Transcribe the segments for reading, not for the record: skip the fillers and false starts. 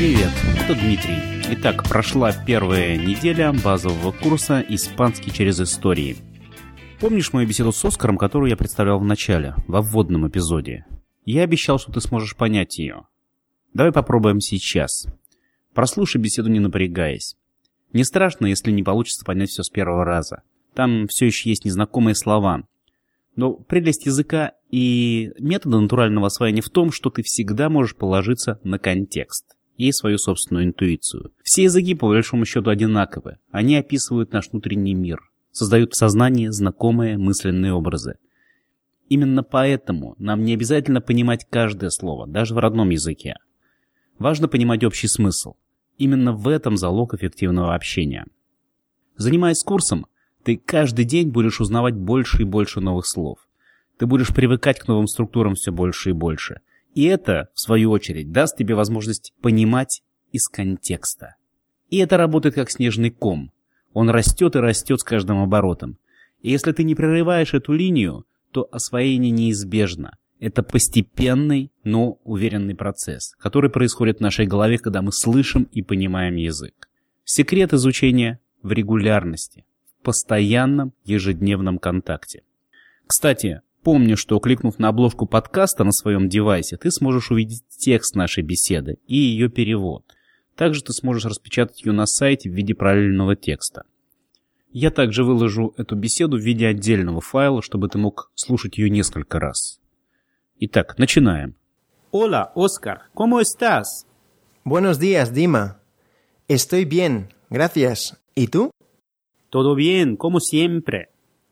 Привет, это Дмитрий. Итак, прошла первая неделя базового курса «Испанский через истории». Помнишь мою беседу с Оскаром, которую я представлял в начале, во вводном эпизоде? Я обещал, что ты сможешь понять ее. Давай попробуем сейчас. Прослушай беседу, не напрягаясь. Не страшно, если не получится понять все с первого раза. Там все еще есть незнакомые слова. Но прелесть языка и метода натурального освоения в том, что ты всегда можешь положиться на контекст и свою собственную интуицию. Все языки, по большому счету, одинаковы. Они описывают наш внутренний мир, создают в сознании знакомые мысленные образы. Именно поэтому нам не обязательно понимать каждое слово, даже в родном языке. Важно понимать общий смысл. Именно в этом залог эффективного общения. Занимаясь курсом, ты каждый день будешь узнавать больше и больше новых слов. Ты будешь привыкать к новым структурам все больше и больше. И это, в свою очередь, даст тебе возможность понимать из контекста. И это работает как снежный ком. Он растет и растет с каждым оборотом. И если ты не прерываешь эту линию, то освоение неизбежно. Это постепенный, но уверенный процесс, который происходит в нашей голове, когда мы слышим и понимаем язык. Секрет изучения в регулярности. Постоянном ежедневном контакте. Кстати, помни, что кликнув на обложку подкаста на своем девайсе, ты сможешь увидеть текст нашей беседы и ее перевод. Также ты сможешь распечатать ее на сайте в виде параллельного текста. Я также выложу эту беседу в виде отдельного файла, чтобы ты мог слушать ее несколько раз. Итак, начинаем. Hola, Oscar, ¿cómo estás? Buenos días, Dima. Estoy bien, gracias. ¿Y tú? Todo bien, como siempre.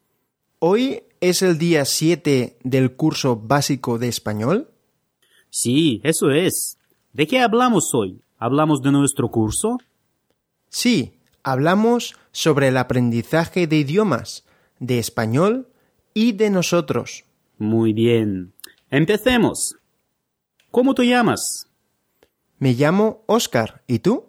¿Hoy es el día 7 del curso básico de español? Sí, eso es. ¿De qué hablamos hoy? ¿Hablamos de nuestro curso? Sí, hablamos sobre el aprendizaje de idiomas, de español y de nosotros. Muy bien. Empecemos. ¿Cómo te llamas? Me llamo Oscar, ¿y tú?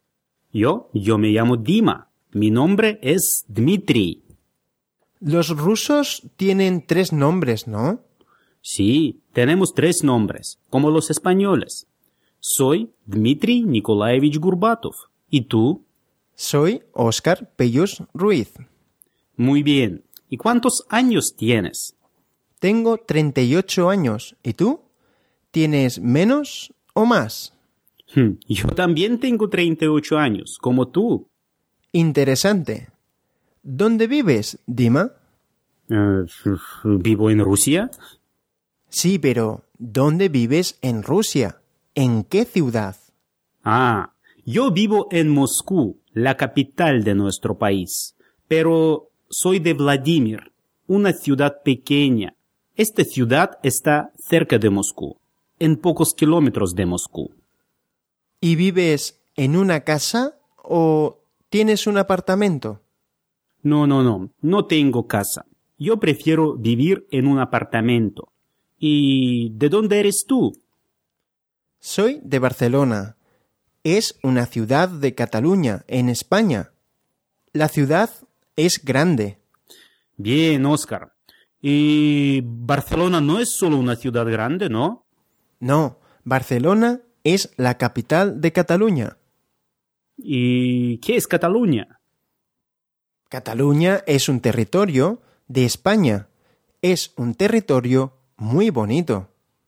Yo me llamo Dima. Mi nombre es Dmitri. Los rusos tienen 3 nombres, ¿no? Sí, tenemos 3 nombres, como los españoles. Soy Dmitri Nikolaevich Gurbatov. ¿Y tú? Soy Oscar Pellus Ruiz. Muy bien. ¿Y cuántos años tienes? Tengo 38 años. ¿Y tú? ¿Tienes menos o más? Yo también tengo 38 años, como tú. Interesante. ¿Dónde vives, Dima? ¿Vivo en Rusia? Sí, pero ¿dónde vives en Rusia? ¿En qué ciudad? Yo vivo en Moscú, la capital de nuestro país. Pero soy de Vladimir, una ciudad pequeña. Esta ciudad está cerca de Moscú, en pocos kilómetros de Moscú. ¿Y vives en una casa o tienes un apartamento? No tengo casa. Yo prefiero vivir en un apartamento. ¿Y de dónde eres tú? Soy de Barcelona. Es una ciudad de Cataluña, en España. La ciudad es grande. Bien, Oscar. ¿Y Barcelona no es solo una ciudad grande, no? No, Barcelona es la capital de Cataluña. ¿Y qué es Cataluña? Cataluña es un territorio de España. Es un territorio muy bonito.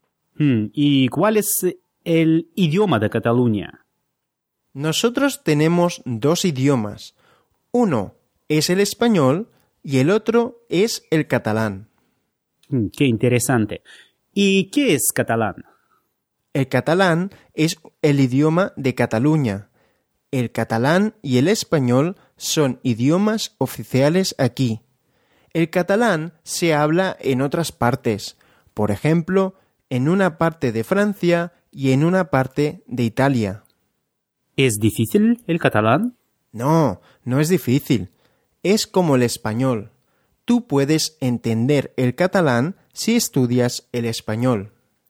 ¿Y cuál es el idioma de Cataluña? Nosotros tenemos 2 idiomas. Uno es el español y el otro es el catalán. Qué interesante. ¿Y qué es catalán? El catalán es el idioma de Cataluña. El catalán y el español son idiomas oficiales aquí. El catalán se habla en otras partes, por ejemplo, en una parte de Francia y en una parte de Italia. ¿Es difícil el catalán? No, no es difícil. Es como el español. Tú puedes entender el catalán si estudias el español.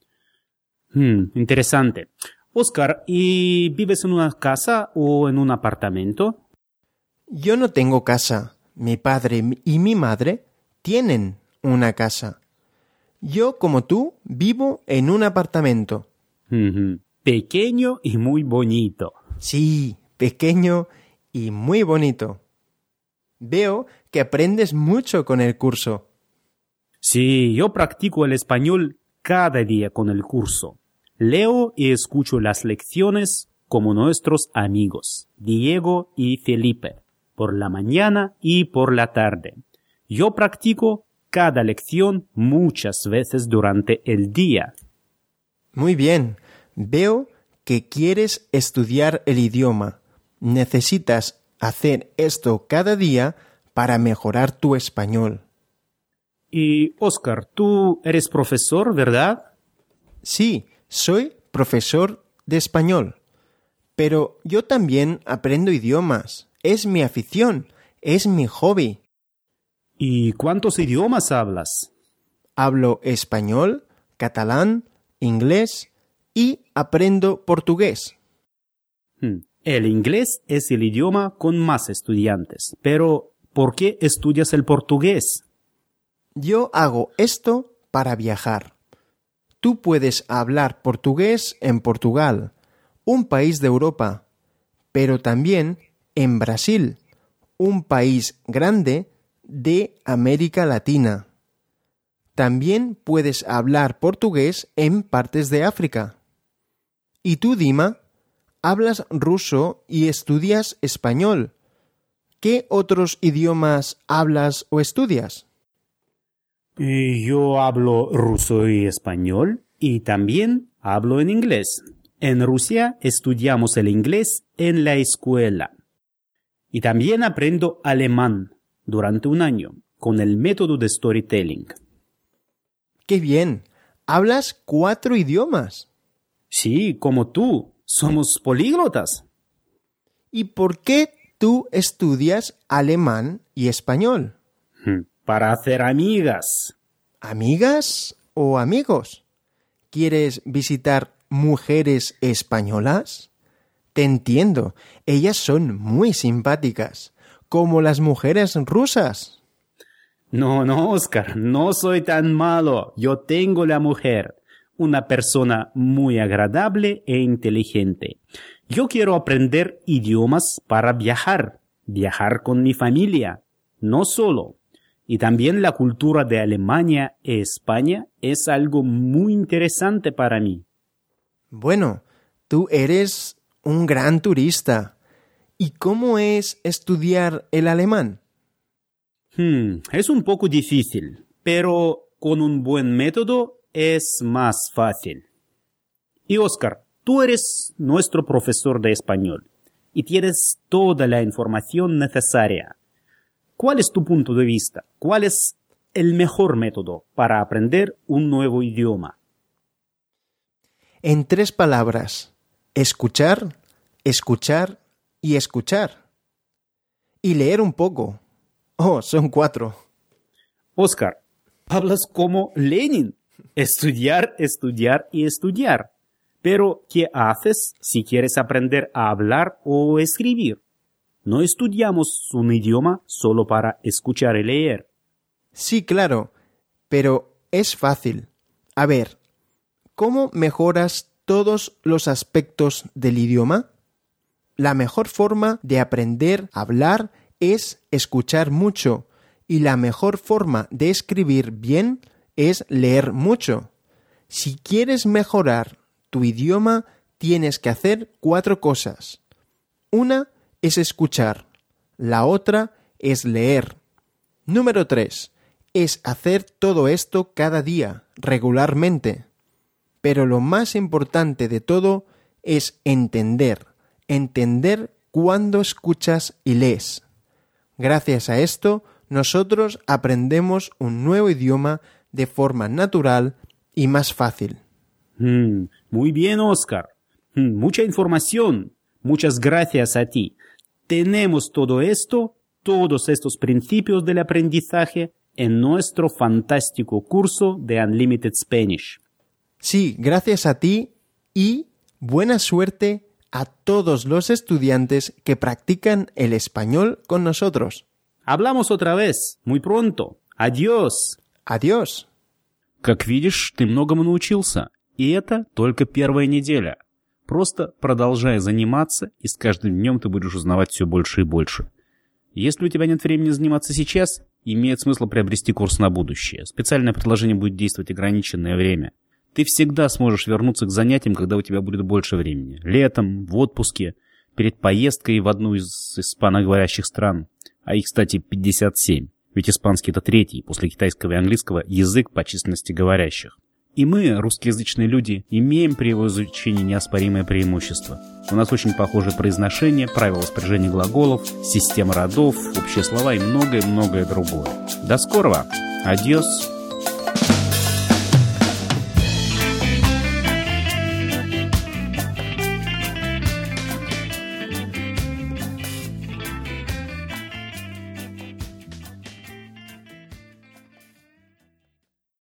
Interesante. Oscar, ¿y vives en una casa o en un apartamento? Yo no tengo casa. Mi padre y mi madre tienen una casa. Yo, como tú, vivo en un apartamento. Pequeño y muy bonito. Sí, pequeño y muy bonito. Veo que aprendes mucho con el curso. Sí, yo practico el español cada día con el curso. Leo y escucho las lecciones como nuestros amigos, Diego y Felipe, por la mañana y por la tarde. Yo practico cada lección muchas veces durante el día. Muy bien. Veo que quieres estudiar el idioma. Necesitas hacer esto cada día para mejorar tu español. Y, Oscar, tú eres profesor, ¿verdad? Sí, soy profesor de español. Pero yo también aprendo idiomas. Es mi afición, es mi hobby. ¿Y cuántos idiomas hablas? Hablo español, catalán, inglés y aprendo portugués. El inglés es el idioma con más estudiantes, pero ¿por qué estudias el portugués? Yo hago esto para viajar. Tú puedes hablar portugués en Portugal, un país de Europa, pero también en Brasil, un país grande de América Latina. También puedes hablar portugués en partes de África. ¿Y tú, Dima? Hablas ruso y estudias español. ¿Qué otros idiomas hablas o estudias? Yo hablo ruso y español y también hablo en inglés. En Rusia estudiamos el inglés en la escuela. Y también aprendo alemán durante un año con el método de storytelling. ¡Qué bien! ¿Hablas 4 idiomas? Sí, como tú. Somos políglotas. ¿Y por qué tú estudias alemán y español? Para hacer amigas. ¿Amigas o amigos? ¿Quieres visitar mujeres españolas? Te entiendo, ellas son muy simpáticas, como las mujeres rusas. No, Oscar, no soy tan malo. Yo tengo la mujer, una persona muy agradable e inteligente. Yo quiero aprender idiomas para viajar con mi familia, no solo. Y también la cultura de Alemania y España es algo muy interesante para mí. Bueno, tú eres un gran turista. ¿Y cómo es estudiar el alemán? Es un poco difícil, pero con un buen método es más fácil. Y Oscar, tú eres nuestro profesor de español y tienes toda la información necesaria. ¿Cuál es tu punto de vista? ¿Cuál es el mejor método para aprender un nuevo idioma? En 3 palabras: escuchar, escuchar y escuchar. Y leer un poco. Oh, son 4. Oscar, hablas como Lenin. Estudiar, estudiar y estudiar. Pero, ¿qué haces si quieres aprender a hablar o escribir? No estudiamos un idioma solo para escuchar y leer. Sí, claro, pero es fácil. A ver, ¿cómo mejoras todos los aspectos del idioma? La mejor forma de aprender a hablar es escuchar mucho y la mejor forma de escribir bien es leer mucho. Si quieres mejorar tu idioma, tienes que hacer 4 cosas. Una es escuchar, la otra es leer. Número 3, es hacer todo esto cada día, regularmente. Pero lo más importante de todo es entender cuando escuchas y lees. Gracias a esto, nosotros aprendemos un nuevo idioma de forma natural y más fácil. Muy bien, Oscar. Mucha información. Muchas gracias a ti. Tenemos todo esto, todos estos principios del aprendizaje en nuestro fantástico curso de Unlimited Spanish. Sí, gracias a ti y buena suerte a todos los estudiantes que practican el español con nosotros. Hablamos otra vez, muy pronto. Adiós. Adiós. Как видишь, ты многому научился. И это только первая неделя. Просто продолжай заниматься, и с каждым днем ты будешь узнавать все больше и больше. Если у тебя нет времени заниматься сейчас, имеет смысл приобрести курс на будущее. Специальное предложение будет действовать ограниченное время. Ты всегда сможешь вернуться к занятиям, когда у тебя будет больше времени. Летом, в отпуске, перед поездкой в одну из испаноговорящих стран. А их, кстати, 57. Ведь испанский — это третий, после китайского и английского, язык по численности говорящих. И мы, русскоязычные люди, имеем при его изучении неоспоримое преимущество. У нас очень похожее произношение, правила спряжения глаголов, система родов, общие слова и многое-многое другое. До скорого! Адьос!